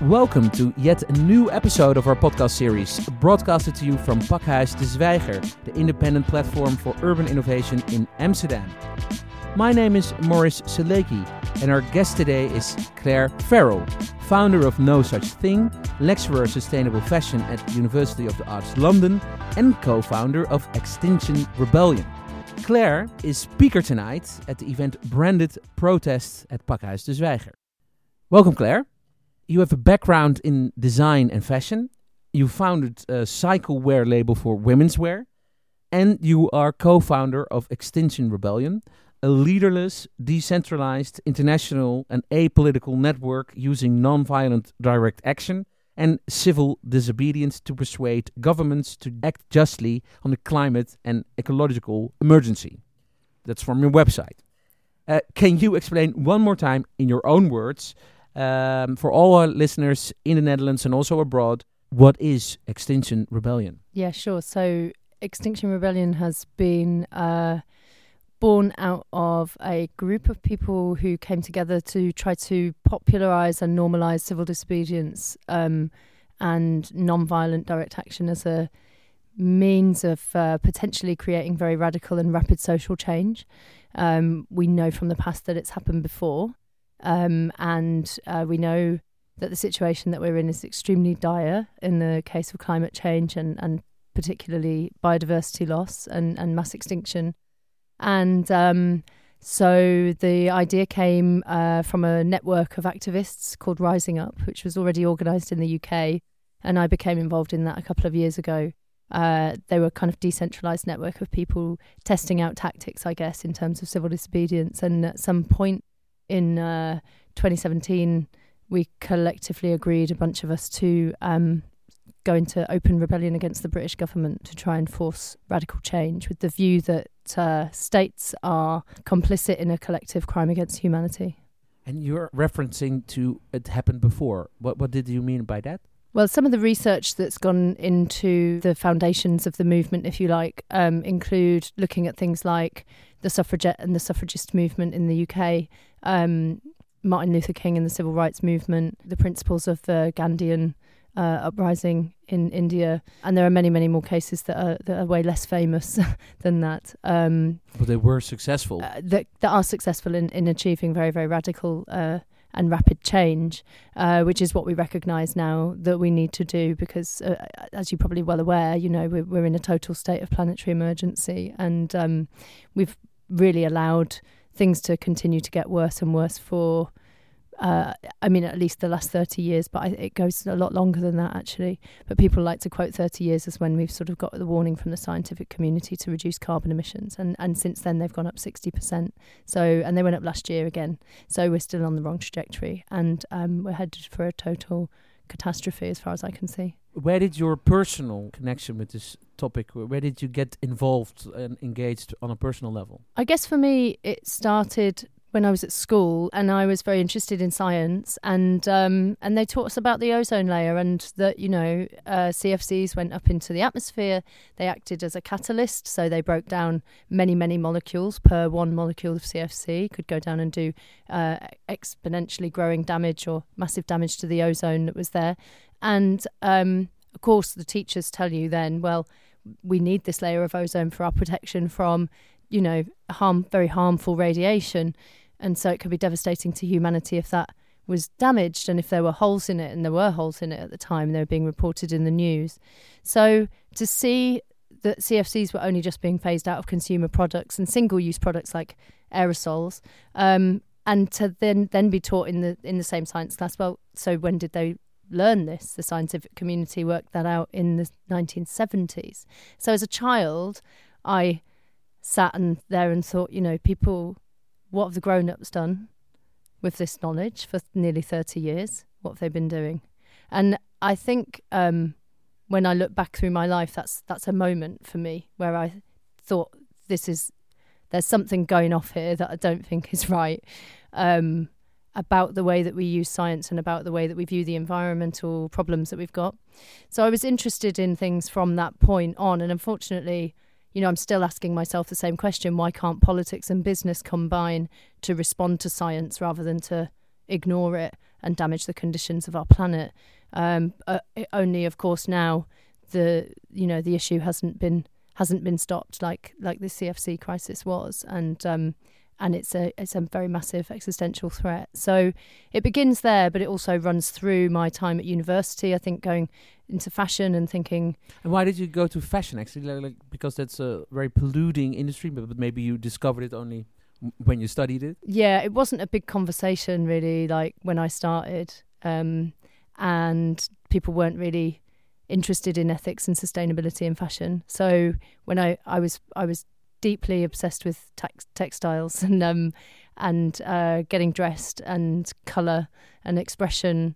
Welcome to yet a new episode of our podcast series, broadcasted to you from Pakhuis de Zwijger, the independent platform for urban innovation in Amsterdam. My name is Maurice Seleki, and our guest today is Claire Farrell, founder of No Such Thing, lecturer of sustainable fashion at the University of the Arts London, and co-founder of Extinction Rebellion. Claire is speaker tonight at the event branded Protests at Pakhuis de Zwijger. Welcome, Claire. You have a background in design and fashion. You founded a cycle wear label for women's wear. And you are co-founder of Extinction Rebellion, a leaderless, decentralized, international and apolitical network using non-violent direct action and civil disobedience to persuade governments to act justly on the climate and ecological emergency. That's from your website. Can you explain one more time in your own words, for all our listeners in the Netherlands and also abroad, what is Extinction Rebellion? Yeah, sure. So Extinction Rebellion has been born out of a group of people who came together to try to popularise and normalise civil disobedience and non-violent direct action as a means of potentially creating very radical and rapid social change. We know from the past that it's happened before. And we know that the situation that we're in is extremely dire in the case of climate change and particularly biodiversity loss and mass extinction. And so the idea came from a network of activists called Rising Up, which was already organised in the UK. And I became involved in that a couple of years ago. They were a kind of decentralised network of people testing out tactics, I guess, in terms of civil disobedience. And at some point in 2017, we collectively agreed, a bunch of us, to go into open rebellion against the British government to try and force radical change with the view that states are complicit in a collective crime against humanity. And you're referencing to it happened before. What did you mean by that? Well, some of the research that's gone into the foundations of the movement, if you like, include looking at things like the suffragette and the suffragist movement in the UK, Martin Luther King and the civil rights movement, the principles of the Gandhian uprising in India, and there are many, many more cases that are way less famous than that. But they were successful. That are successful in achieving very, very radical and rapid change, which is what we recognise now that we need to do because, as you're probably well aware, you know, we're in a total state of planetary emergency, and we've really allowed things to continue to get worse and worse for, at least the last 30 years, but it goes a lot longer than that, actually. But people like to quote 30 years as when we've sort of got the warning from the scientific community to reduce carbon emissions. And since then, they've gone up 60%. And they went up last year again. So we're still on the wrong trajectory. And we're headed for a total catastrophe as far as I can see. Where did your personal connection with this topic, where did you get involved and engaged on a personal level? I guess for me, it started when I was at school, and I was very interested in science, and they taught us about the ozone layer, and that, you know, CFCs went up into the atmosphere. They acted as a catalyst, so they broke down many, many molecules per one molecule of CFC, could go down and do exponentially growing damage or massive damage to the ozone that was there. And of course, the teachers tell you then, well, we need this layer of ozone for our protection from, you know, very harmful radiation. And so it could be devastating to humanity if that was damaged and if there were holes in it, and there were holes in it at the time, they were being reported in the news. So to see that CFCs were only just being phased out of consumer products and single-use products like aerosols, and to then be taught in the same science class, well, so when did they learn this? The scientific community worked that out in the 1970s. So as a child, I sat there and thought, you know, people, what have the grown-ups done with this knowledge for nearly 30 years? What have they been doing? And I think when I look back through my life, that's a moment for me where I thought there's something going off here that I don't think is right, about the way that we use science and about the way that we view the environmental problems that we've got. So I was interested in things from that point on, and unfortunately, you know, I'm still asking myself the same question: why can't politics and business combine to respond to science rather than to ignore it and damage the conditions of our planet. Only, of course, now the issue hasn't been stopped like the CFC crisis was, and it's a very massive existential threat. So it begins there, but it also runs through my time at university. I think going into fashion and thinking. And why did you go to fashion actually? Like because that's a very polluting industry, but maybe you discovered it only when you studied it. Yeah, it wasn't a big conversation really, like when I started, and people weren't really interested in ethics and sustainability in fashion. So when I was deeply obsessed with textiles and getting dressed and colour and expression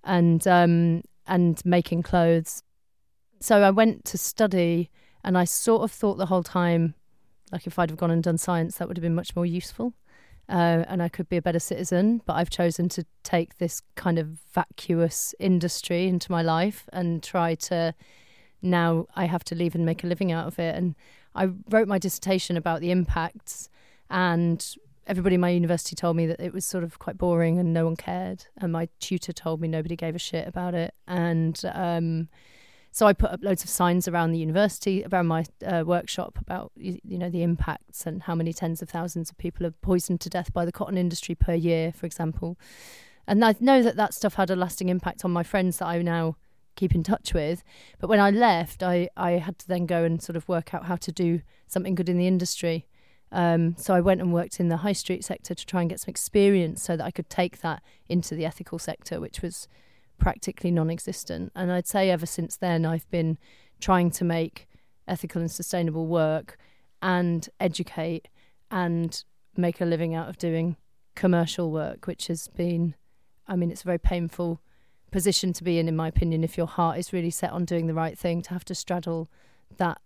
and making clothes. So I went to study, and I sort of thought the whole time, like if I'd have gone and done science, that would have been much more useful, and I could be a better citizen. But I've chosen to take this kind of vacuous industry into my life and try to. Now I have to leave and make a living out of it. And I wrote my dissertation about the impacts, and everybody in my university told me that it was sort of quite boring and no one cared. And my tutor told me nobody gave a shit about it. And so I put up loads of signs around the university, around my workshop about, the impacts and how many tens of thousands of people are poisoned to death by the cotton industry per year, for example. And I know that stuff had a lasting impact on my friends that I now keep in touch with. But when I left, I had to then go and sort of work out how to do something good in the industry. So I went and worked in the high street sector to try and get some experience so that I could take that into the ethical sector, which was practically non-existent. And I'd say ever since then, I've been trying to make ethical and sustainable work and educate and make a living out of doing commercial work, which has been, it's a very painful position to be in my opinion, if your heart is really set on doing the right thing, to have to straddle that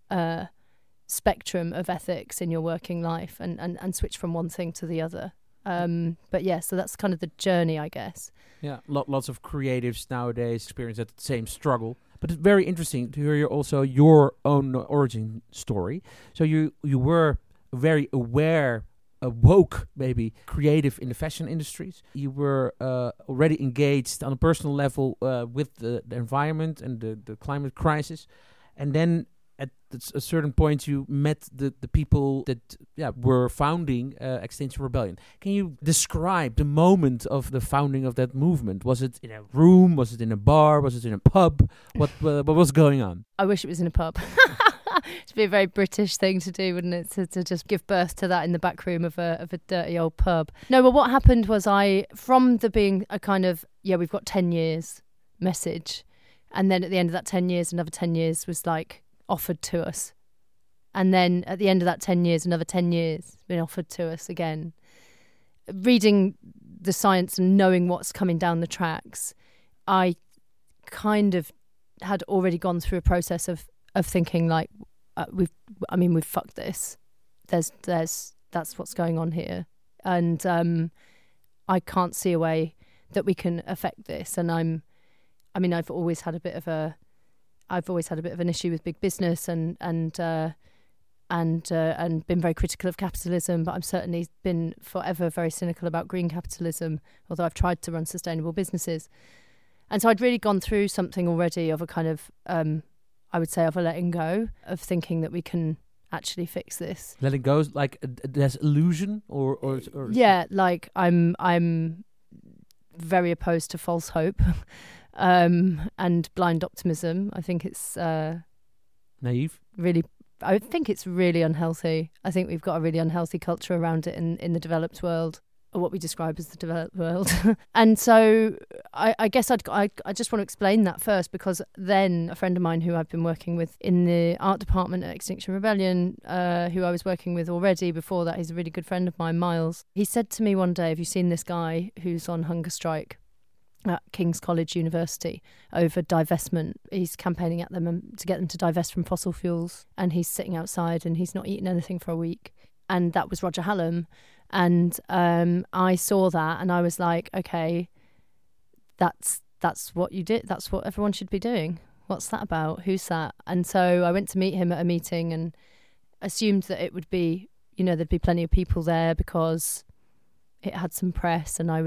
spectrum of ethics in your working life and switch from one thing to the other. But yeah, so that's kind of the journey, I guess. Yeah, lots of creatives nowadays experience that same struggle. But it's very interesting to hear also your own origin story. So you were very aware, woke, maybe, creative in the fashion industries. You were already engaged on a personal level with the environment and the climate crisis. And then at a certain point, you met the people that were founding Extinction Rebellion. Can you describe the moment of the founding of that movement? Was it in a room? Was it in a bar? Was it in a pub? What was going on? I wish it was in a pub. It'd be a very British thing to do, wouldn't it? To just give birth to that in the back room of a dirty old pub. No, but what happened was from the being a kind of, we've got 10 years message. And then at the end of that 10 years, another 10 years was like offered to us. And then at the end of that 10 years, another 10 years been offered to us again. Reading the science and knowing what's coming down the tracks, I kind of had already gone through a process of thinking like, we've fucked this. That's what's going on here. And I can't see a way that we can affect this. And I've always had a bit of an issue with big business and been very critical of capitalism, but I've certainly been forever very cynical about green capitalism, although I've tried to run sustainable businesses. And so I'd really gone through something already of a kind of, I would say, of a letting go, of thinking that we can actually fix this. Letting go is like there's illusion or yeah, like I'm very opposed to false hope. And blind optimism. I think it's naive. Really, I think it's really unhealthy. I think we've got a really unhealthy culture around it in the developed world, or what we describe as the developed world. And so I guess I just want to explain that first, because then a friend of mine who I've been working with in the art department at Extinction Rebellion, who I was working with already before that, he's a really good friend of mine, Miles. He said to me one day, "Have you seen this guy who's on hunger strike at King's College University over divestment? He's campaigning at them to get them to divest from fossil fuels, and he's sitting outside and he's not eaten anything for a week." And that was Roger Hallam. And I saw that and I was like, okay, that's what you did. That's what everyone should be doing. What's that about? Who's that? And so I went to meet him at a meeting and assumed that it would be, there'd be plenty of people there because it had some press and I was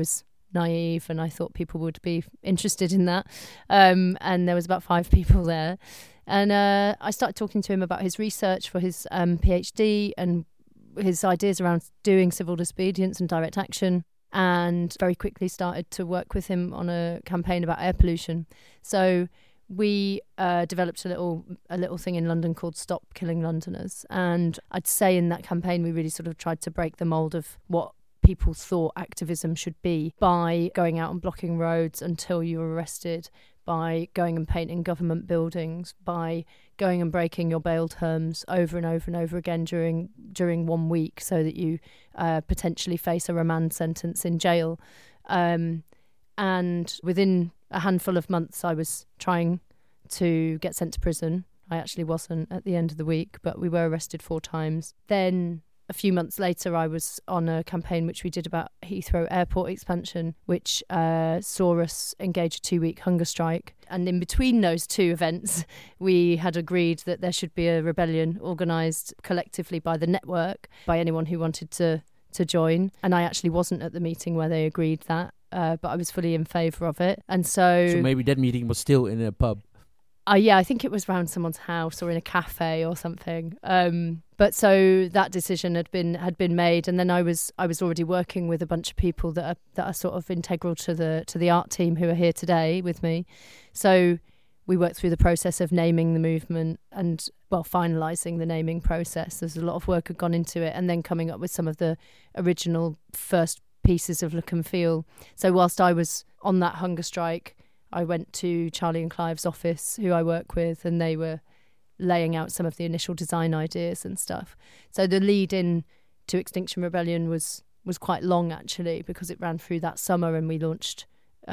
naive, and I thought people would be interested in that. And there was about 5 people there. And I started talking to him about his research for his PhD and his ideas around doing civil disobedience and direct action, and very quickly started to work with him on a campaign about air pollution. So we developed a little thing in London called Stop Killing Londoners. And I'd say in that campaign, we really sort of tried to break the mould of what people thought activism should be by going out and blocking roads until you were arrested, by going and painting government buildings, by going and breaking your bail terms over and over and over again during 1 week so that you potentially face a remand sentence in jail. And within a handful of months, I was trying to get sent to prison. I actually wasn't at the end of the week, but we were arrested 4 times. Then a few months later, I was on a campaign which we did about Heathrow Airport expansion, which saw us engage a 2-week hunger strike. And in between those 2 events, we had agreed that there should be a rebellion organised collectively by the network, by anyone who wanted to join. And I actually wasn't at the meeting where they agreed that, but I was fully in favour of it. And so maybe that meeting was still in a pub. Yeah, I think it was around someone's house or in a cafe or something. But so that decision had been made, and then I was already working with a bunch of people that are sort of integral to the art team who are here today with me. So we worked through the process of naming the movement and finalising the naming process. There's a lot of work had gone into it, and then coming up with some of the original first pieces of look and feel. So whilst I was on that hunger strike, I went to Charlie and Clive's office, who I work with, and they were laying out some of the initial design ideas and stuff. So the lead in to Extinction Rebellion was quite long, actually, because it ran through that summer, and we launched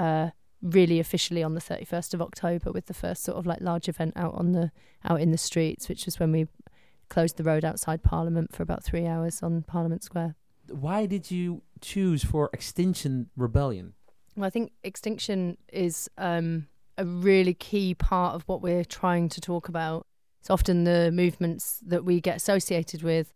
really officially on the 31st of October with the first sort of like large event out in the streets, which was when we closed the road outside Parliament for about 3 hours on Parliament Square. Why did you choose for Extinction Rebellion? Well, I think extinction is a really key part of what we're trying to talk about. It's often the movements that we get associated with.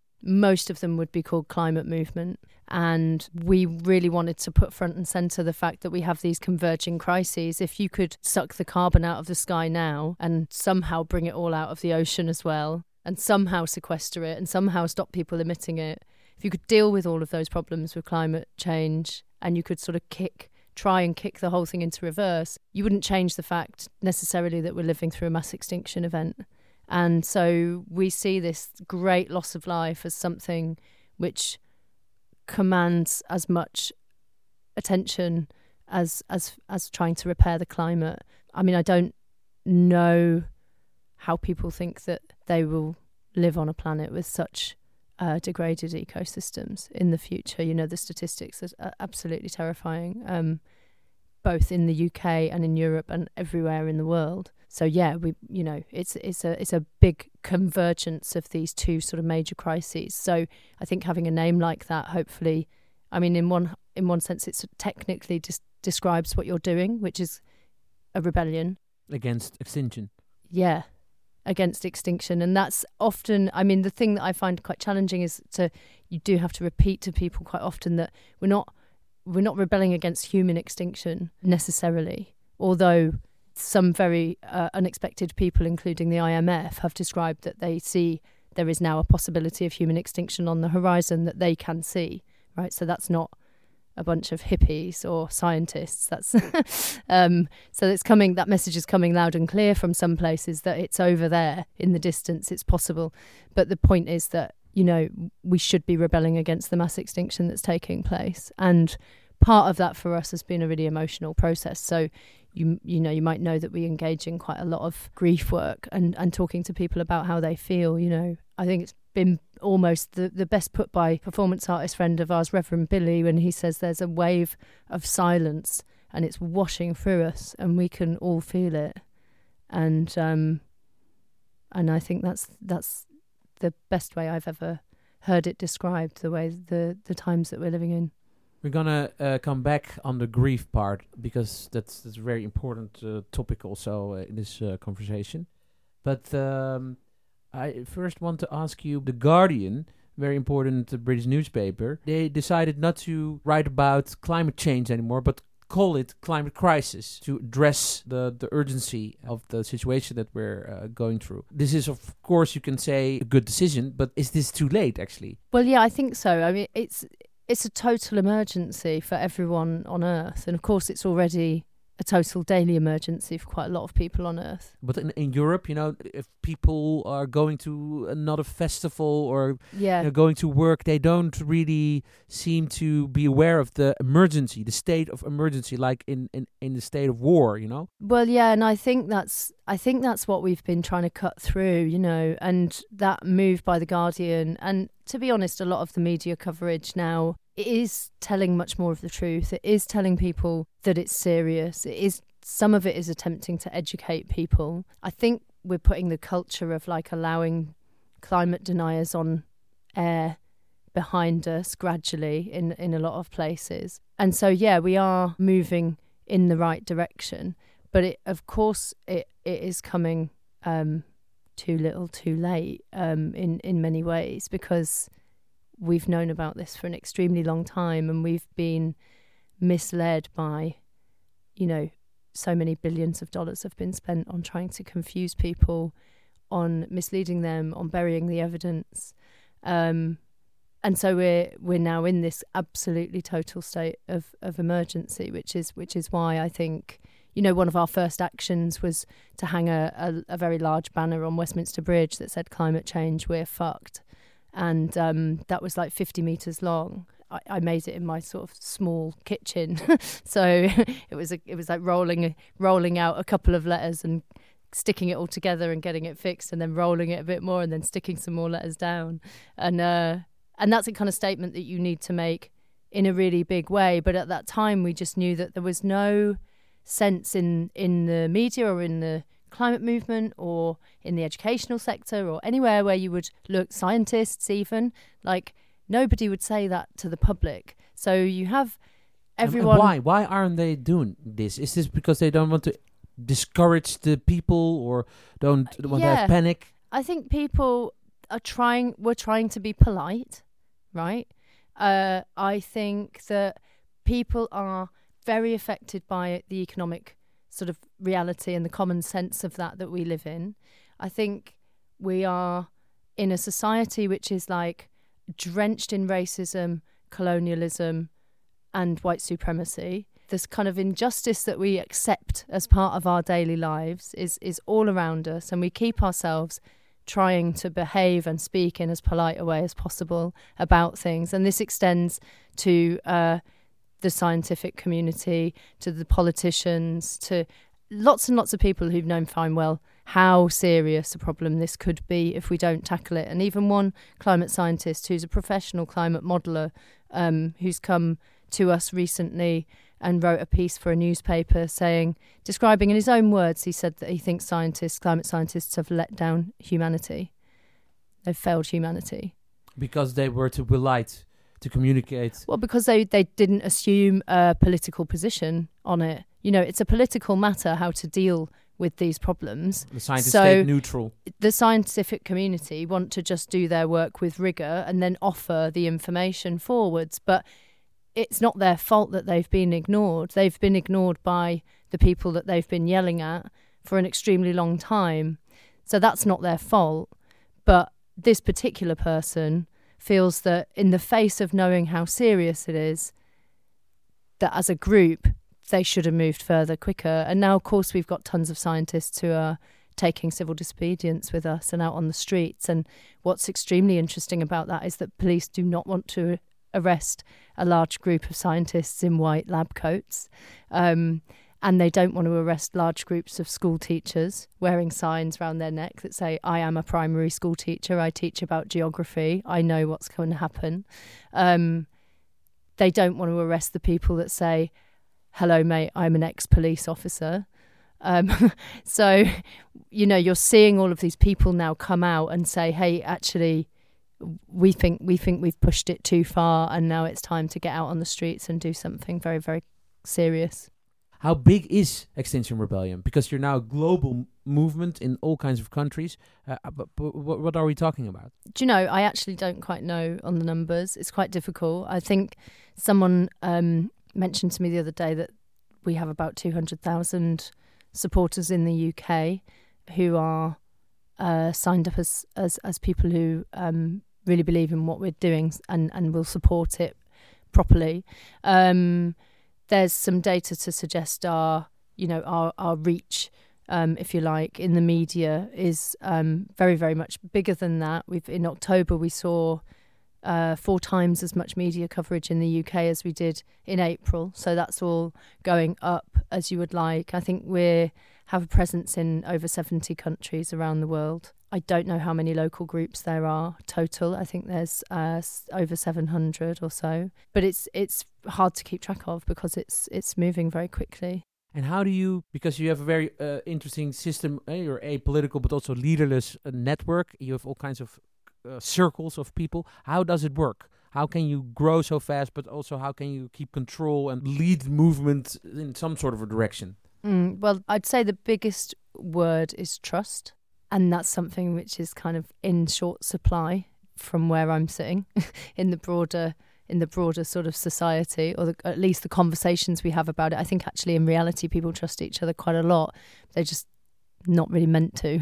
Most of them would be called climate movement. And we really wanted to put front and centre the fact that we have these converging crises. If you could suck the carbon out of the sky now and somehow bring it all out of the ocean as well, and somehow sequester it and somehow stop people emitting it, if you could deal with all of those problems with climate change, and you could sort of try and kick the whole thing into reverse, you wouldn't change the fact necessarily that we're living through a mass extinction event. And so we see this great loss of life as something which commands as much attention as trying to repair the climate. I mean, I don't know how people think that they will live on a planet with such degraded ecosystems in the future. You know, the statistics are absolutely terrifying, both in the UK and in Europe and everywhere in the world. So yeah, it's a big convergence of these 2 sort of major crises. So I think having a name like that, hopefully, I mean, in one sense, it technically just describes what you're doing, which is a rebellion against extinction. Yeah. Against extinction. And that's often, I mean, the thing that I find quite challenging is you do have to repeat to people quite often that we're not rebelling against human extinction necessarily, although some very unexpected people, including the IMF, have described that they see there is now a possibility of human extinction on the horizon that they can see, right? So that's not a bunch of hippies or scientists. That's so it's coming. That message is coming loud and clear from some places that it's over there in the distance. It's possible, but the point is that we should be rebelling against the mass extinction that's taking place, and part of that for us has been a really emotional process. So you might know that we engage in quite a lot of grief work and talking to people about how they feel. I think it's been almost the best put by performance artist friend of ours, Reverend Billy, when he says there's a wave of silence and it's washing through us and we can all feel it. And I think that's the best way I've ever heard it described, the way the times that we're living in. We're gonna come back on the grief part because that's a very important topic also in this conversation. But I first want to ask you, The Guardian very important British newspaper, they decided not to write about climate change anymore, but call it climate crisis to address the urgency of the situation that we're going through. This is, of course, you can say a good decision, but is this too late, actually? Well, yeah, I think so. I mean, it's a total emergency for everyone on Earth. And of course, it's already a total daily emergency for quite a lot of people on Earth. But in Europe, if people are going to another festival or going to work, they don't really seem to be aware of the emergency, the state of emergency, like in the state of war, Well, yeah, and I think that's what we've been trying to cut through, and that move by The Guardian. And to be honest, a lot of the media coverage now, it is telling much more of the truth. It is telling people that it's serious. Some of it is attempting to educate people. I think we're putting the culture of allowing climate deniers on air behind us gradually in a lot of places. And so, yeah, we are moving in the right direction. But it is coming too little, too late in many ways, because we've known about this for an extremely long time, and we've been misled by, so many billions of dollars have been spent on trying to confuse people, on misleading them, on burying the evidence. And so we're now in this absolutely total state of emergency, which is why I think, one of our first actions was to hang a very large banner on Westminster Bridge that said "Climate change, we're fucked." And that was 50 metres long. I made it in my sort of small kitchen, so it was like rolling out a couple of letters and sticking it all together and getting it fixed, and then rolling it a bit more and then sticking some more letters down, and that's a kind of statement that you need to make in a really big way. But at that time, we just knew that there was no sense in the media or in the climate movement or in the educational sector or anywhere where you would look, scientists even, nobody would say that to the public. So you have everyone... And why aren't they doing this? Is this because they don't want to discourage the people or don't want to have panic? I think people were trying to be polite, right? I think that people are very affected by the economic sort of reality and the common sense of that we live in. I think we are in a society which is drenched in racism, colonialism, and white supremacy. This kind of injustice that we accept as part of our daily lives is all around us, and we keep ourselves trying to behave and speak in as polite a way as possible about things. And this extends to the scientific community, to the politicians, to lots and lots of people who've known fine well how serious a problem this could be if we don't tackle it. And even one climate scientist who's a professional climate modeller, who's come to us recently and wrote a piece for a newspaper describing in his own words, he said that he thinks climate scientists have let down humanity. They've failed humanity. Because they were too polite to communicate. Well, because they didn't assume a political position on it. It's a political matter how to deal with these problems. The scientists stayed neutral. The scientific community want to just do their work with rigour and then offer the information forwards. But it's not their fault that they've been ignored. They've been ignored by the people that they've been yelling at for an extremely long time. So that's not their fault. But this particular person feels that in the face of knowing how serious it is, that as a group, they should have moved further quicker. And now, of course, we've got tons of scientists who are taking civil disobedience with us and out on the streets. And what's extremely interesting about that is that police do not want to arrest a large group of scientists in white lab coats. And they don't want to arrest large groups of school teachers wearing signs around their neck that say, "I am a primary school teacher, I teach about geography, I know what's going to happen." They don't want to arrest the people that say, "Hello, mate, I'm an ex-police officer." So, you're seeing all of these people now come out and say, "Hey, actually, we think we've pushed it too far, and now it's time to get out on the streets and do something very, very serious." How big is Extinction Rebellion? Because you're now a global movement in all kinds of countries. But what are we talking about? Do you know, I actually don't quite know on the numbers. It's quite difficult. I think someone mentioned to me the other day that we have about 200,000 supporters in the UK who are signed up as people who really believe in what we're doing and will support it properly. There's some data to suggest our reach, if you like, in the media is very, very much bigger than that. In October we saw 4 times as much media coverage in the UK as we did in April. So that's all going up as you would like. I think we have a presence in over 70 countries around the world. I don't know how many local groups there are total. I think there's over 700 or so. But it's hard to keep track of because it's moving very quickly. And how do you, because you have a very interesting system, you're apolitical but also leaderless network. You have all kinds of circles of people. How does it work? How can you grow so fast, but also how can you keep control and lead movement in some sort of a direction? Well, I'd say the biggest word is trust. And that's something which is kind of in short supply from where I'm sitting in the broader sort of society, or at least the conversations we have about it. I think actually in reality people trust each other quite a lot. They're just not really meant to.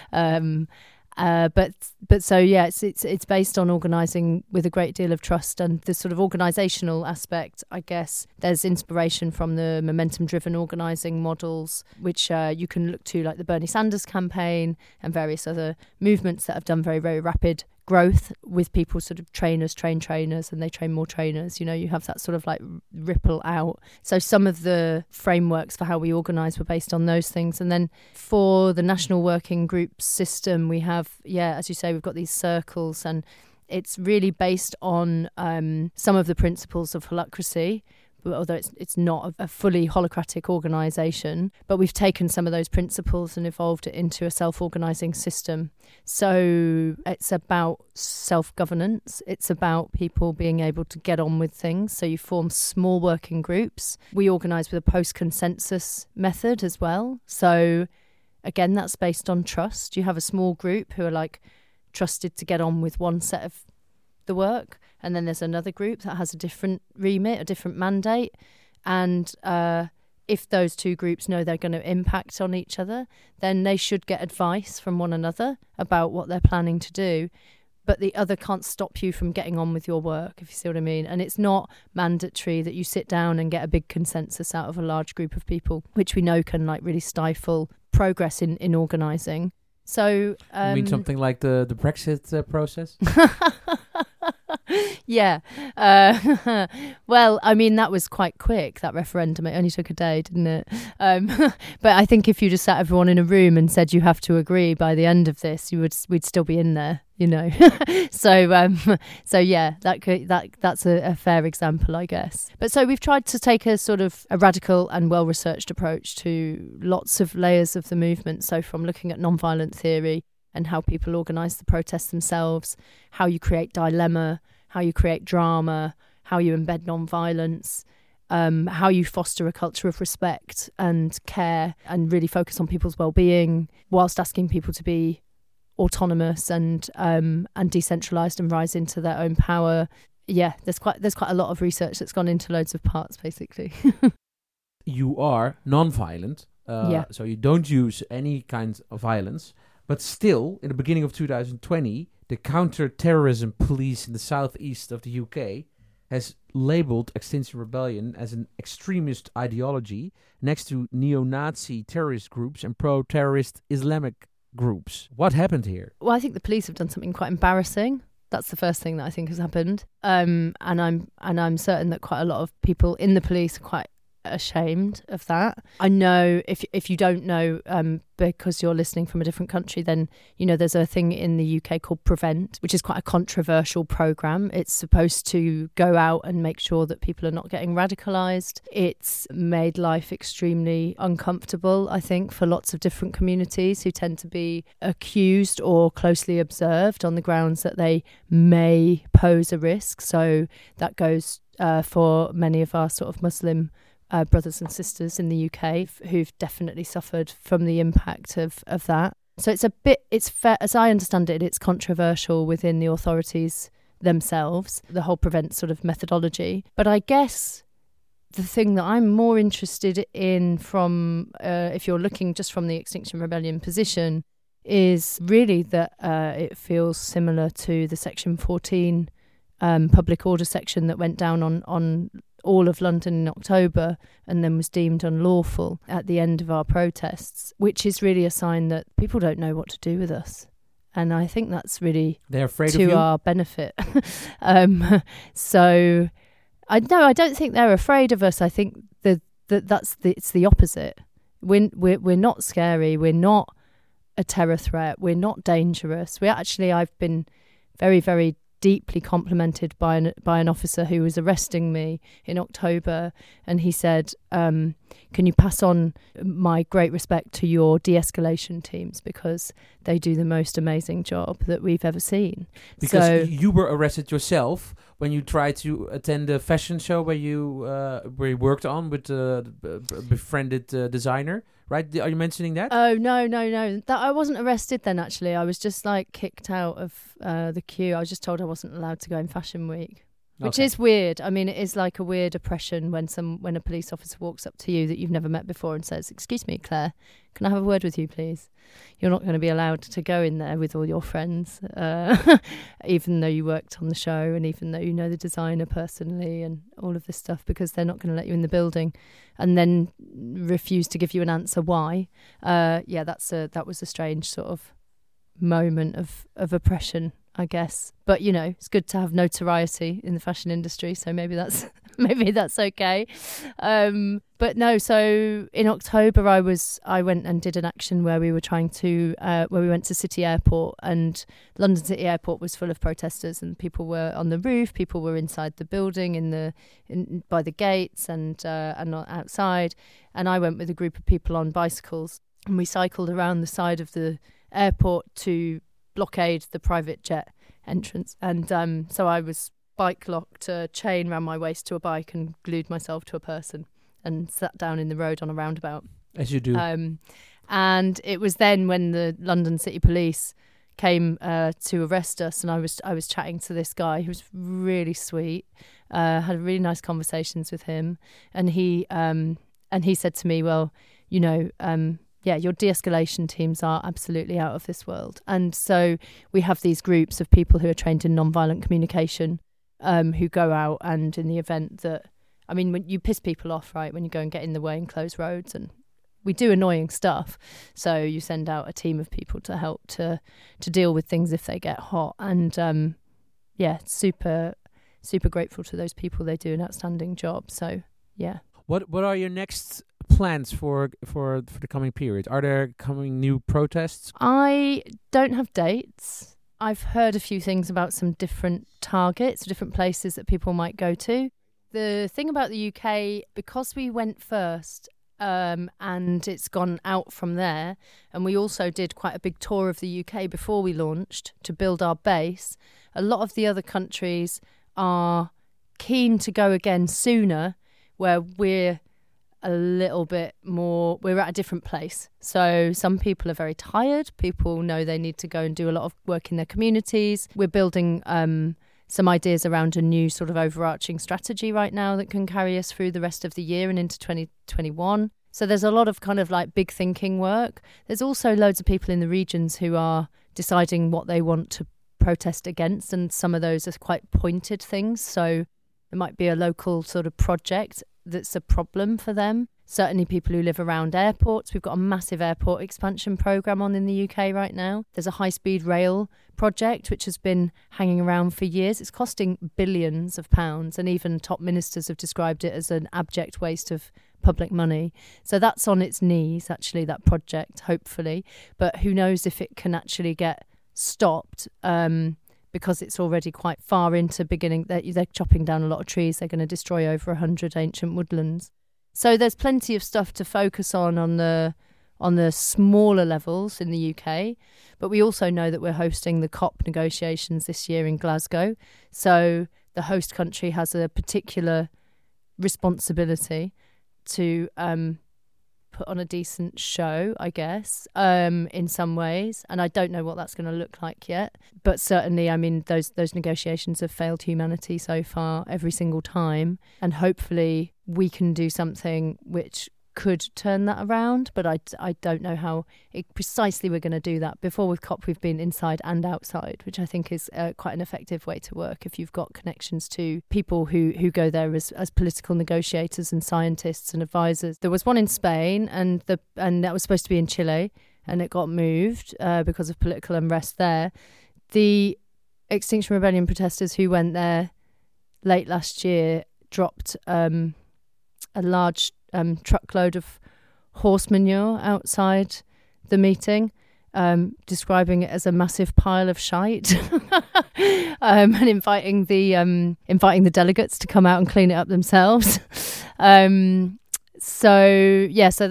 But so yeah, it's based on organising with a great deal of trust, and the sort of organisational aspect, I guess, there's inspiration from the momentum-driven organising models, which you can look to, like the Bernie Sanders campaign and various other movements that have done very, very rapid growth with people sort of trainers, and they train more trainers. You know, you have that sort of like ripple out. So some of the frameworks for how we organise were based on those things. And then for the National Working Group system, we have, as you say, we've got these circles, and it's really based on some of the principles of holacracy, although it's not a fully holacratic organisation, but we've taken some of those principles and evolved it into a self-organising system. So it's about self-governance. It's about people being able to get on with things. So you form small working groups. We organise with a post-consensus method as well. So again, that's based on trust. You have a small group who are like trusted to get on with one set of the work, and then there's another group that has a different remit, a different mandate, and if those two groups know they're going to impact on each other, then they should get advice from one another about what they're planning to do, but the other can't stop you from getting on with your work, if you see what I mean. And it's not mandatory that you sit down and get a big consensus out of a large group of people, which we know can like really stifle progress in organising. So you mean something like the Brexit process? Yeah. Well, I mean, that was quite quick, that referendum. It only took a day, didn't it? But I think if you just sat everyone in a room and said you have to agree by the end of this, we'd still be in there, you know. So yeah, that's a fair example, I guess. But so we've tried to take a sort of a radical and well-researched approach to lots of layers of the movement. So from looking at non-violent theory and how people organise the protests themselves, how you create dilemma, how you create drama, how you embed non-violence, how you foster a culture of respect and care and really focus on people's well-being whilst asking people to be autonomous and decentralised and rise into their own power. Yeah, there's quite a lot of research that's gone into loads of parts, basically. You are non-violent, so you don't use any kind of violence. But still, in the beginning of 2020, the counter-terrorism police in the southeast of the UK has labelled Extinction Rebellion as an extremist ideology next to neo-Nazi terrorist groups and pro-terrorist Islamic groups. What happened here? Well, I think the police have done something quite embarrassing. That's the first thing that I think has happened. And I'm certain that quite a lot of people in the police are quite ashamed of that. I know if you don't know, because you're listening from a different country, then you know there's a thing in the UK called Prevent, which is quite a controversial programme. It's supposed to go out and make sure that people are not getting radicalised. It's made life extremely uncomfortable, I think, for lots of different communities who tend to be accused or closely observed on the grounds that they may pose a risk. So that goes for many of our sort of Muslim brothers and sisters in the UK who've definitely suffered from the impact of that. So it's fair, as I understand it, it's controversial within the authorities themselves, the whole Prevent sort of methodology. But I guess the thing that I'm more interested in from, if you're looking just from the Extinction Rebellion position, is really that it feels similar to the Section 14 public order section that went down on all of London in October and then was deemed unlawful at the end of our protests, which is really a sign that people don't know what to do with us. And I think that's really they're afraid to of you? Our benefit. So I don't think they're afraid of us. I think it's the opposite. We're not scary. We're not a terror threat. We're not dangerous. I've been very, very deeply complimented by an officer who was arresting me in October, and he said, can you pass on my great respect to your de-escalation teams, because they do the most amazing job that we've ever seen. Because you were arrested yourself when you tried to attend a fashion show where you worked on with a befriended designer, right? Are you mentioning that? Oh, no. That I wasn't arrested then, actually. I was just kicked out of the queue. I was just told I wasn't allowed to go in Fashion Week. Which is weird. I mean, it is like a weird oppression when a police officer walks up to you that you've never met before and says, "Excuse me, Claire, can I have a word with you, please?" You're not going to be allowed to go in there with all your friends, even though you worked on the show and even though you know the designer personally and all of this stuff, because they're not going to let you in the building and then refuse to give you an answer why. That was a strange sort of moment of oppression, I guess. But it's good to have notoriety in the fashion industry, so maybe that's okay. But no, so in October I went and did an action where we were where we went to City Airport, and London City Airport was full of protesters, and people were on the roof, people were inside the building by the gates and not outside, and I went with a group of people on bicycles, and we cycled around the side of the airport to blockade the private jet entrance. And so I was bike locked a chain around my waist to a bike and glued myself to a person and sat down in the road on a roundabout. As you do. And it was then when the London City Police came to arrest us, and I was chatting to this guy who was really sweet, had really nice conversations with him, and he said to me, well, your de-escalation teams are absolutely out of this world. And so we have these groups of people who are trained in non-violent communication, who go out, and in the event that, when you piss people off, right, when you go and get in the way and close roads, and we do annoying stuff. So you send out a team of people to help to deal with things if they get hot. And super, super grateful to those people. They do an outstanding job. So, yeah. What are your next plans for the coming period? Are there coming new protests? I don't have dates. I've heard a few things about some different targets, different places that people might go to. The thing about the UK, because we went first, and it's gone out from there, and we also did quite a big tour of the UK before we launched to build our base, a lot of the other countries are keen to go again sooner, where we're a little bit more, we're at a different place. So some people are very tired. People know they need to go and do a lot of work in their communities. We're building some ideas around a new sort of overarching strategy right now that can carry us through the rest of the year and into 2021. So there's a lot of kind of big thinking work. There's also loads of people in the regions who are deciding what they want to protest against, and some of those are quite pointed things. So it might be a local sort of project that's a problem for them. Certainly people who live around airports. We've got a massive airport expansion programme on in the UK right now. There's a high-speed rail project which has been hanging around for years. It's costing billions of pounds, and even top ministers have described it as an abject waste of public money. So that's on its knees, actually, that project, hopefully. But who knows if it can actually get stopped, because it's already quite far into beginning. They're chopping down a lot of trees. They're going to destroy over 100 ancient woodlands. So there's plenty of stuff to focus on the smaller levels in the UK. But we also know that we're hosting the COP negotiations this year in Glasgow. So the host country has a particular responsibility to put on a decent show, I guess, in some ways. And I don't know what that's going to look like yet. But certainly, I mean, those negotiations have failed humanity so far every single time. And hopefully we can do something which could turn that around, but I don't know how precisely we're going to do that. Before with COP, we've been inside and outside, which I think is quite an effective way to work if you've got connections to people who go there as political negotiators and scientists and advisors. There was one in Spain, and that was supposed to be in Chile, and it got moved because of political unrest there. The Extinction Rebellion protesters who went there late last year dropped a large truckload of horse manure outside the meeting, describing it as a massive pile of shite, and inviting the delegates to come out and clean it up themselves. So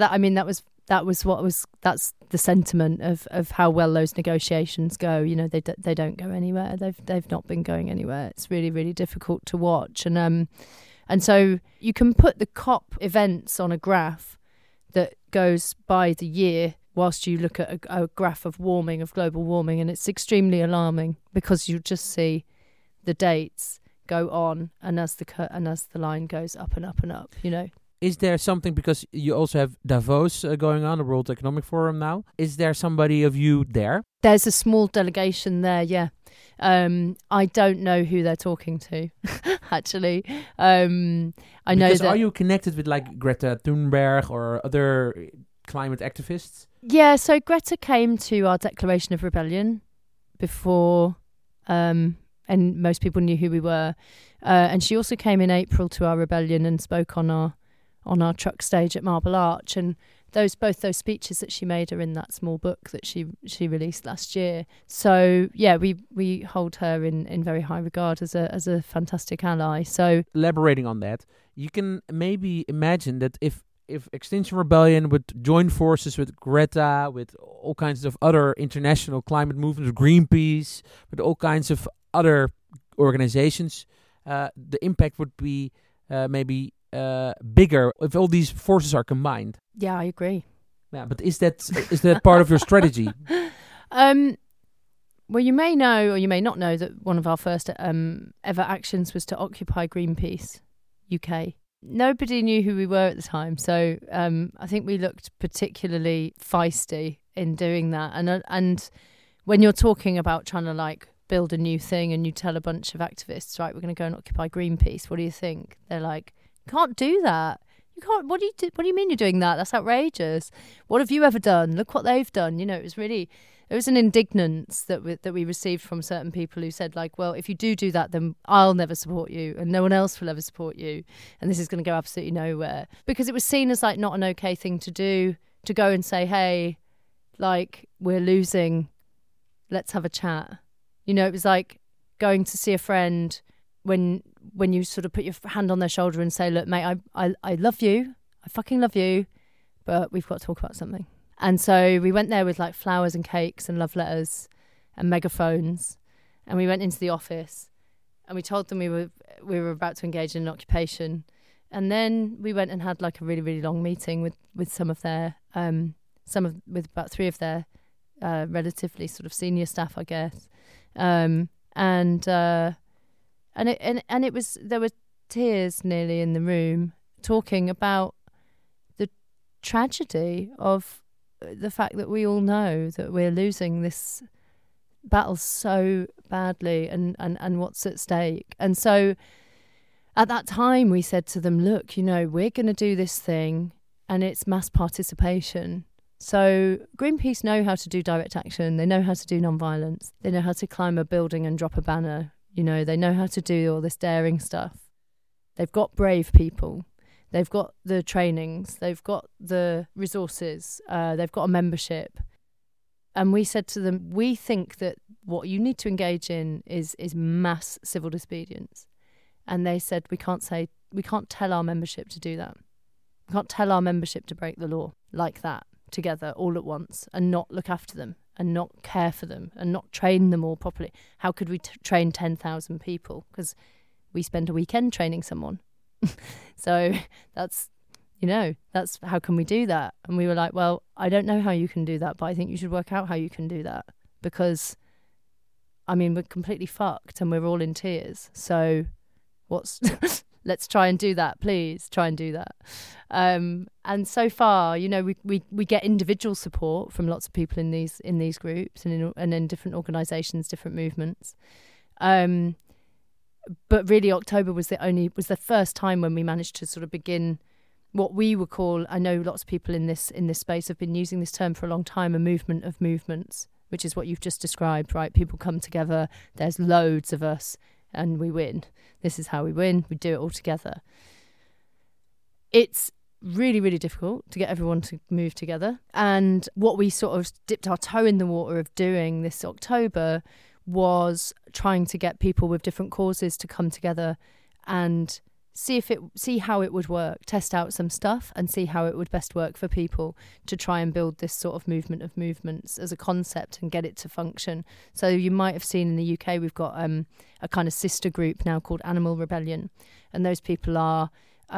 that's the sentiment of how well those negotiations go. You know, they don't go anywhere. They've not been going anywhere. It's really, really difficult to watch. And so you can put the COP events on a graph that goes by the year whilst you look at a graph of global warming, and it's extremely alarming because you just see the dates go on, and as the line goes up and up and up, you know. Is there something, because you also have Davos going on, the World Economic Forum now, is there somebody of you there? There's a small delegation there, yeah. I don't know who they're talking to, actually. I know that. Are you connected with like Greta Thunberg or other climate activists? Yeah, so Greta came to our Declaration of Rebellion before, and most people knew who we were. And she also came in April to our rebellion and spoke on our truck stage at Marble Arch, and both those speeches that she made are in that small book that she released last year. So yeah, we hold her in very high regard as a fantastic ally. So elaborating on that, you can maybe imagine that if Extinction Rebellion would join forces with Greta, with all kinds of other international climate movements, Greenpeace, with all kinds of other organizations, the impact would be maybe bigger if all these forces are combined. Yeah, I agree. Yeah, but is that part of your strategy? Well, you may know or you may not know that one of our first ever actions was to occupy Greenpeace UK. Nobody knew who we were at the time, so I think we looked particularly feisty in doing that. And when you're talking about trying to like build a new thing and you tell a bunch of activists, right, we're going to go and occupy Greenpeace, what do you think? They're like, can't do that. You can't. What do you mean you're doing that? That's outrageous. What have you ever done? Look what they've done. You know, it was an indignance that we received from certain people who said like, well, if you do that, then I'll never support you and no one else will ever support you, and this is going to go absolutely nowhere, because it was seen as like not an okay thing to do, to go and say, hey, like, we're losing, let's have a chat. You know, it was like going to see a friend when you sort of put your hand on their shoulder and say, look, mate, I love you. I fucking love you. But we've got to talk about something. And so we went there with like flowers and cakes and love letters and megaphones. And we went into the office and we told them we were about to engage in an occupation. And then we went and had like a really, really long meeting with some of their, with about 3 of their relatively sort of senior staff, I guess. And it was, there were tears nearly in the room, talking about the tragedy of the fact that we all know that we're losing this battle so badly and what's at stake. And so at that time we said to them, look, you know, we're going to do this thing and it's mass participation. So Greenpeace know how to do direct action. They know how to do non-violence. They know how to climb a building and drop a banner. You know, they know how to do all this daring stuff. They've got brave people. They've got the trainings. They've got the resources. They've got a membership. And we said to them, we think that what you need to engage in is mass civil disobedience. And they said, we can't tell our membership to do that. We can't tell our membership to break the law like that together all at once and not look after them and not care for them and not train them all properly. How could we train 10,000 people? Because we spend a weekend training someone. So that's, That's how can we do that? And we were like, well, I don't know how you can do that, but I think you should work out how you can do that, because we're completely fucked and we're all in tears. So let's try and do that, please. Try and do that. And so far, we get individual support from lots of people in these groups and in different organisations, different movements. But really, October was the first time when we managed to sort of begin what we would call, I know lots of people in this space have been using this term for a long time, a movement of movements, which is what you've just described, right? People come together, there's loads of us, and we win. This is how we win. We do it all together. It's really, really difficult to get everyone to move together. And what we sort of dipped our toe in the water of doing this October was trying to get people with different causes to come together and see how it would work, test out some stuff and see how it would best work for people to try and build this sort of movement of movements as a concept and get it to function. So you might have seen in the UK, we've got a kind of sister group now called Animal Rebellion. And those people are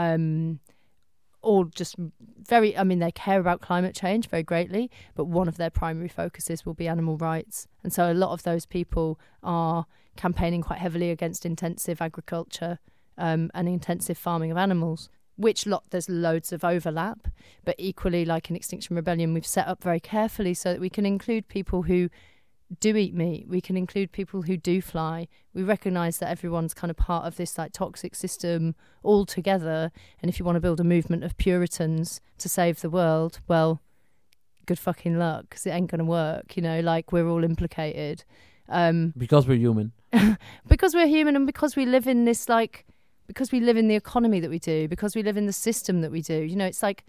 all just they care about climate change very greatly, but one of their primary focuses will be animal rights. And so a lot of those people are campaigning quite heavily against intensive agriculture and intensive farming of animals, which there's loads of overlap, but equally, like in Extinction Rebellion, we've set up very carefully so that we can include people who do eat meat, we can include people who do fly. We recognise that everyone's kind of part of this like toxic system all together, and if you want to build a movement of Puritans to save the world, well, good fucking luck, because it ain't going to work, we're all implicated. Because we're human. Because we're human, and because we live in this because we live in the economy that we do, because we live in the system that we do. It's like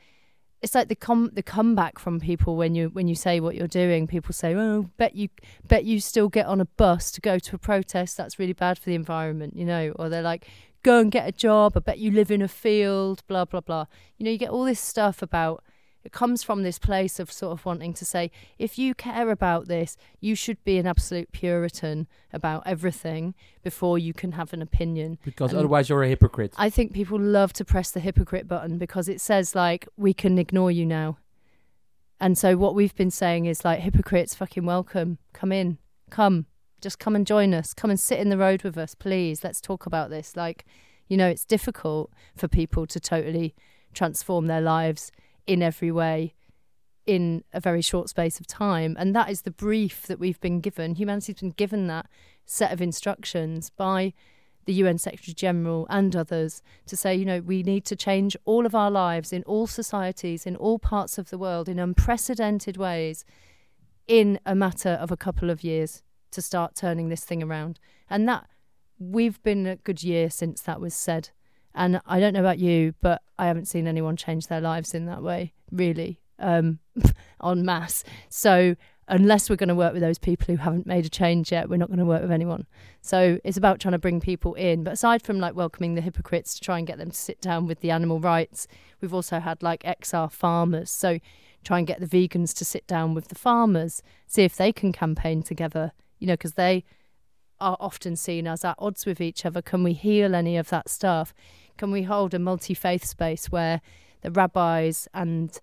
the comeback from people when you say what you're doing. People say, "Oh, bet you still get on a bus to go to a protest. That's really bad for the environment," Or they're like, "Go and get a job. I bet you live in a field." Blah blah blah. You get all this stuff about. It comes from this place of sort of wanting to say, if you care about this, you should be an absolute Puritan about everything before you can have an opinion. Because otherwise you're a hypocrite. I think people love to press the hypocrite button because it says, we can ignore you now. And so what we've been saying is, hypocrites, fucking welcome. Come in. Come. Just come and join us. Come and sit in the road with us, please. Let's talk about this. It's difficult for people to totally transform their lives in every way in a very short space of time, and that is the brief that we've been given. Humanity's been given that set of instructions by the UN Secretary General and others to say, we need to change all of our lives in all societies, in all parts of the world, in unprecedented ways in a matter of a couple of years to start turning this thing around. And that we've been a good year since that was said. And I don't know about you, but I haven't seen anyone change their lives in that way, really, en masse. So unless we're going to work with those people who haven't made a change yet, we're not going to work with anyone. So it's about trying to bring people in. But aside from welcoming the hypocrites to try and get them to sit down with the animal rights, we've also had XR farmers. So try and get the vegans to sit down with the farmers, see if they can campaign together, because they are often seen as at odds with each other. Can we heal any of that stuff? Can we hold a multi-faith space where the rabbis and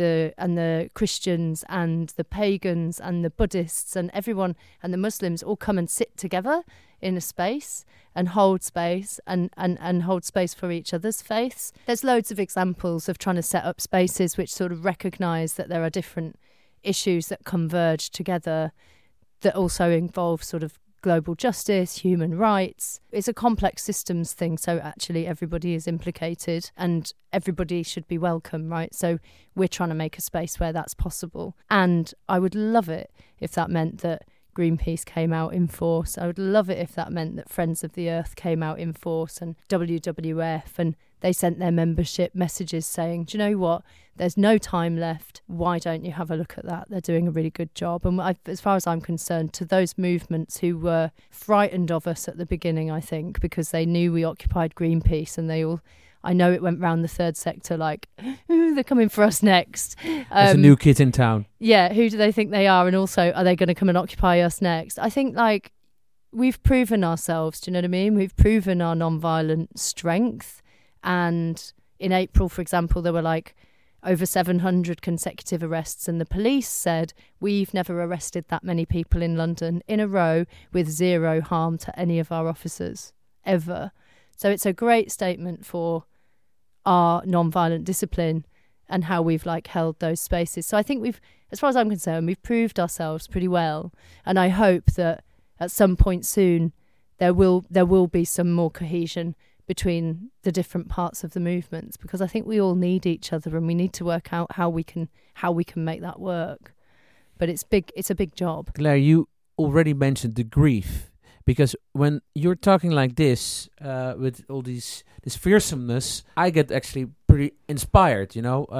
the Christians and the pagans and the Buddhists and everyone and the Muslims all come and sit together in a space and hold space and hold space for each other's faiths? There's loads of examples of trying to set up spaces which sort of recognise that there are different issues that converge together that also involve sort of global justice, human rights. It's a complex systems thing, so actually everybody is implicated and everybody should be welcome, right? So we're trying to make a space where that's possible. And I would love it if that meant that Greenpeace came out in force. I would love it if that meant that Friends of the Earth came out in force and WWF, and they sent their membership messages saying, do you know what? There's no time left. Why don't you have a look at that? They're doing a really good job. And as far as I'm concerned, to those movements who were frightened of us at the beginning, I think, because they knew we occupied Greenpeace, and they all, I know it went round the third sector ooh, they're coming for us next. There's a new kid in town. Yeah, who do they think they are? And also, are they going to come and occupy us next? I think we've proven ourselves, do you know what I mean? We've proven our non-violent strength, and in April, for example, there were like over 700 consecutive arrests, and the police said, we've never arrested that many people in London in a row with zero harm to any of our officers, ever. So it's a great statement for our non-violent discipline and how we've like held those spaces. So I think we've, as far as I'm concerned, we've proved ourselves pretty well. And I hope that at some point soon, there will be some more cohesion between the different parts of the movements, because I think we all need each other and we need to work out how we can make that work. But it's a big job. Claire, you already mentioned the grief, because when you're talking like this, with all this fearsomeness, I get actually pretty inspired. You know,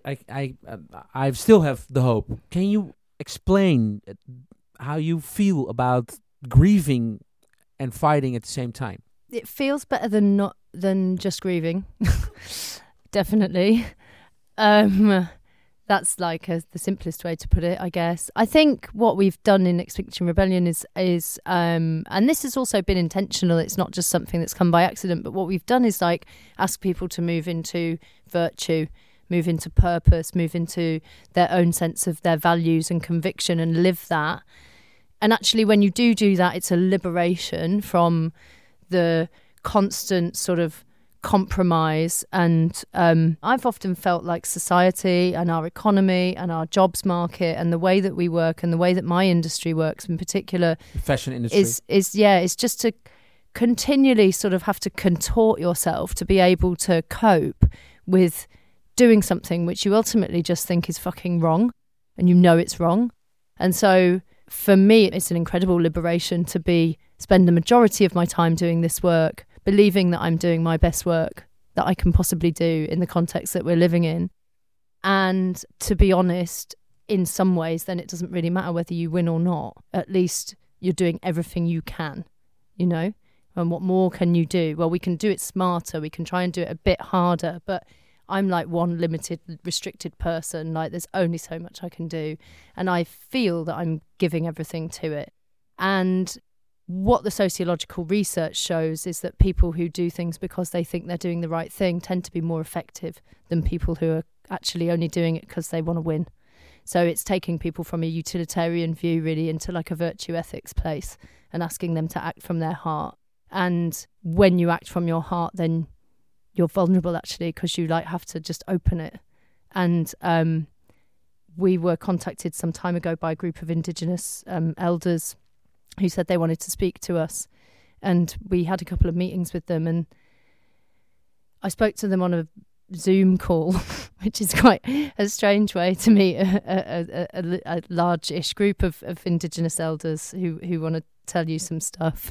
I still have the hope. Can you explain how you feel about grieving and fighting at the same time? It feels better than just grieving. Definitely. That's like the simplest way to put it, I guess. I think what we've done in Extinction Rebellion is and this has also been intentional. It's not just something that's come by accident, but what we've done is like ask people to move into virtue, move into purpose, move into their own sense of their values and conviction and live that. And actually, when you do that, it's a liberation from the constant sort of compromise. And I've often felt like society and our economy and our jobs market and the way that we work and the way that my industry works in particular, the fashion industry, is just to continually sort of have to contort yourself to be able to cope with doing something which you ultimately just think is fucking wrong, and you know it's wrong. And so for me, it's an incredible liberation to spend the majority of my time doing this work, believing that I'm doing my best work that I can possibly do in the context that we're living in. And to be honest, in some ways, then it doesn't really matter whether you win or not. At least you're doing everything you can, you know? And what more can you do? Well, we can do it smarter. We can try and do it a bit harder, but I'm like one limited, restricted person. Like there's only so much I can do. And I feel that I'm giving everything to it. And what the sociological research shows is that people who do things because they think they're doing the right thing tend to be more effective than people who are actually only doing it because they want to win. So it's taking people from a utilitarian view really into like a virtue ethics place and asking them to act from their heart. And when you act from your heart, then you're vulnerable actually, because you like have to just open it. And we were contacted some time ago by a group of Indigenous elders who said they wanted to speak to us. And we had a couple of meetings with them, and I spoke to them on a Zoom call, which is quite a strange way to meet a large-ish group of Indigenous elders who want to tell you some stuff.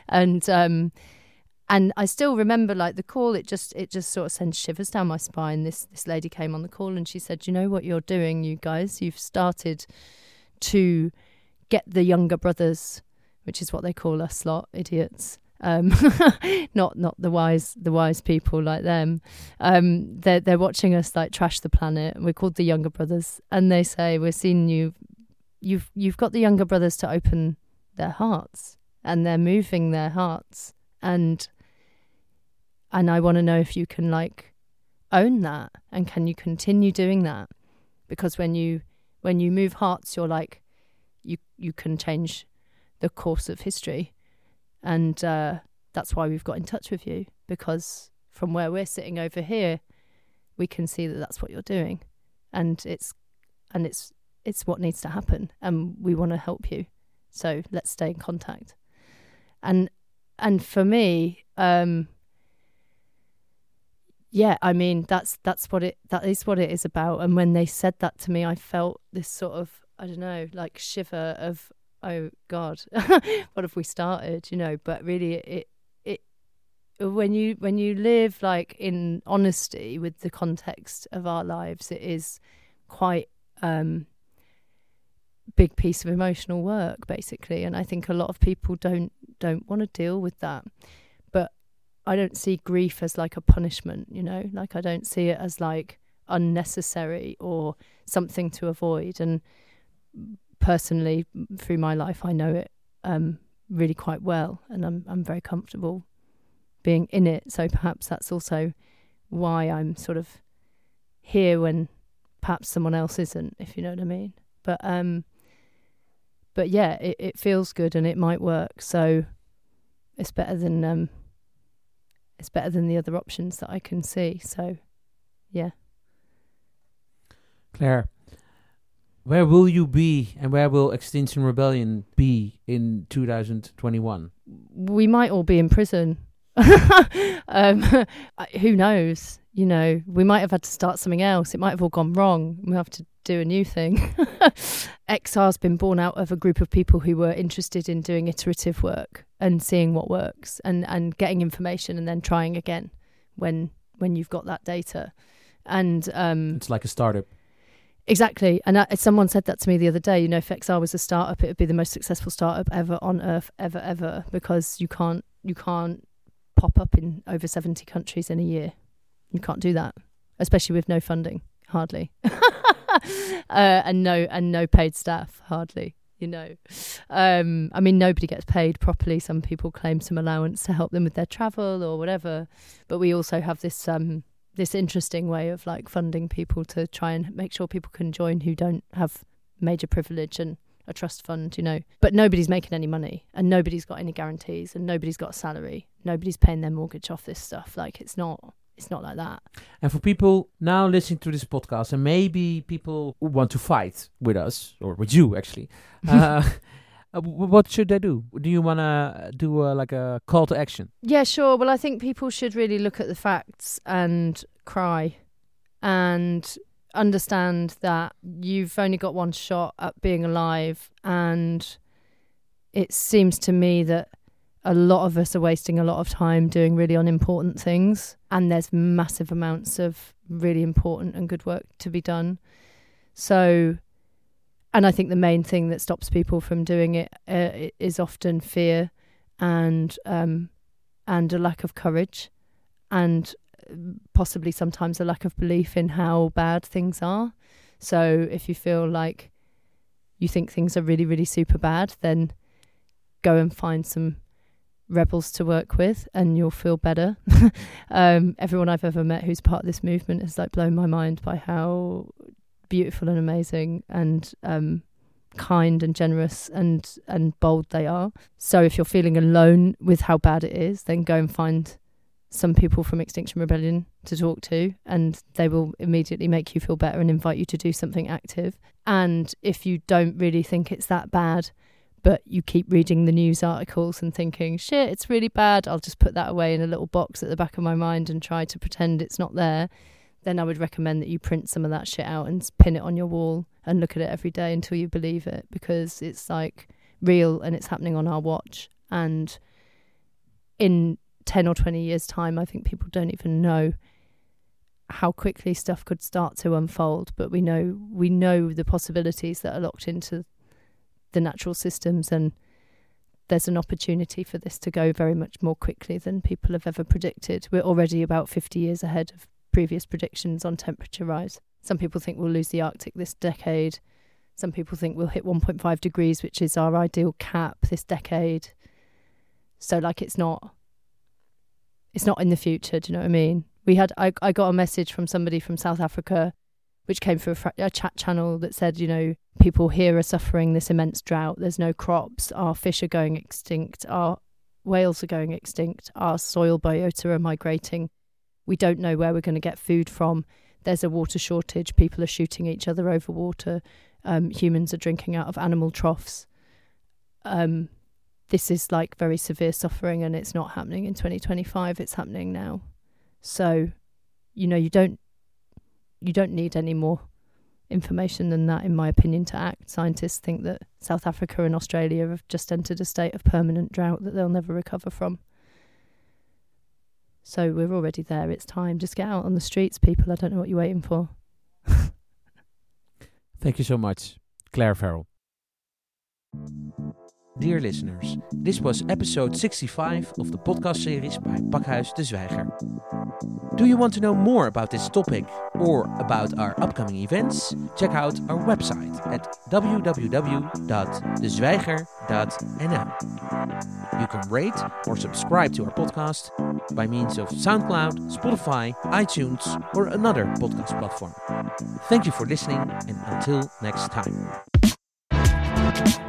And I still remember like the call, it just sort of sends shivers down my spine. This lady came on the call and she said, you know what you're doing, you guys? You've started to get the younger brothers, which is what they call us lot, idiots. Not the wise people like them. They're watching us like trash the planet, and we're called the younger brothers. And they say, we're seeing you've got the younger brothers to open their hearts, and they're moving their hearts. And I want to know if you can like own that, and can you continue doing that? Because when you move hearts, you're like you can change the course of history. And that's why we've got in touch with you, because from where we're sitting over here, we can see that that's what you're doing, and it's what needs to happen, and we want to help you. So let's stay in contact. And for me, yeah, I mean that is what it is about. And when they said that to me, I felt this sort of, I don't know, like shiver of, oh God, what have we started? You know, but really it when you live like in honesty with the context of our lives, it is quite big piece of emotional work basically. And I think a lot of people don't want to deal with that. But I don't see grief as like a punishment, you know, like I don't see it as like unnecessary or something to avoid. And personally, through my life, I know it really quite well, and I'm very comfortable being in it. So perhaps that's also why I'm sort of here when perhaps someone else isn't, if you know what I mean. But yeah, it feels good and it might work. So it's better than the other options that I can see. So yeah. Claire, where will you be and where will Extinction Rebellion be in 2021? We might all be in prison. Who knows? You know, we might have had to start something else. It might have all gone wrong. We'll have to do a new thing. XR's been born out of a group of people who were interested in doing iterative work and seeing what works and getting information and then trying again when you've got that data. And it's like a startup. Exactly. And someone said that to me the other day. You know, if XR was a startup, it would be the most successful startup ever on earth, ever, because you can't pop up in over 70 countries in a year. You can't do that, especially with no funding, hardly, and no paid staff, hardly. You know, I mean, nobody gets paid properly. Some people claim some allowance to help them with their travel or whatever, but we also have this interesting way of like funding people to try and make sure people can join who don't have major privilege and a trust fund, you know. But nobody's making any money and nobody's got any guarantees and nobody's got a salary. Nobody's paying their mortgage off this stuff. Like it's not like that. And for people now listening to this podcast, and maybe people who want to fight with us or with you actually, what should they do? Do you want to do like a call to action? Yeah, sure. Well, I think people should really look at the facts and cry and understand that you've only got one shot at being alive. And it seems to me that a lot of us are wasting a lot of time doing really unimportant things. And there's massive amounts of really important and good work to be done. So... And I think the main thing that stops people from doing it is often fear and a lack of courage and possibly sometimes a lack of belief in how bad things are. So if you feel like you think things are really, really super bad, then go and find some rebels to work with and you'll feel better. Everyone I've ever met who's part of this movement has like blown my mind by how beautiful and amazing and kind and generous and bold they are. So if you're feeling alone with how bad it is, then go and find some people from Extinction Rebellion to talk to and they will immediately make you feel better and invite you to do something active. And if you don't really think it's that bad, but you keep reading the news articles and thinking, shit, it's really bad, I'll just put that away in a little box at the back of my mind and try to pretend it's not there, then I would recommend that you print some of that shit out and pin it on your wall and look at it every day until you believe it, because it's like real and it's happening on our watch. And in 10 or 20 years' time, I think people don't even know how quickly stuff could start to unfold, but we know the possibilities that are locked into the natural systems, and there's an opportunity for this to go very much more quickly than people have ever predicted. We're already about 50 years ahead of previous predictions on temperature rise. Some people think we'll lose the Arctic this decade. Some people think we'll hit 1.5 degrees, which is our ideal cap this decade. So like it's not in the future, do you know what I mean? I got a message from somebody from South Africa, which came through a chat channel that said, you know, people here are suffering this immense drought. There's no crops. Our fish are going extinct. Our whales are going extinct. Our soil biota are migrating. We don't know where we're going to get food from. There's a water shortage. People are shooting each other over water. Humans are drinking out of animal troughs. This is like very severe suffering, and it's not happening in 2025. It's happening now. So, you know, you don't need any more information than that, in my opinion, to act. Scientists think that South Africa and Australia have just entered a state of permanent drought that they'll never recover from. So we're already there. It's time. Just get out on the streets, people. I don't know what you're waiting for. Thank you so much, Claire Farrell. dear listeners, this was episode 65 of the podcast series by Pakhuis de Zwijger. Do you want to know more about this topic or about our upcoming events? Check out our website at www.dezwijger.nl. You can rate or subscribe to our podcast by means of SoundCloud, Spotify, iTunes, or another podcast platform. Thank you for listening, and until next time.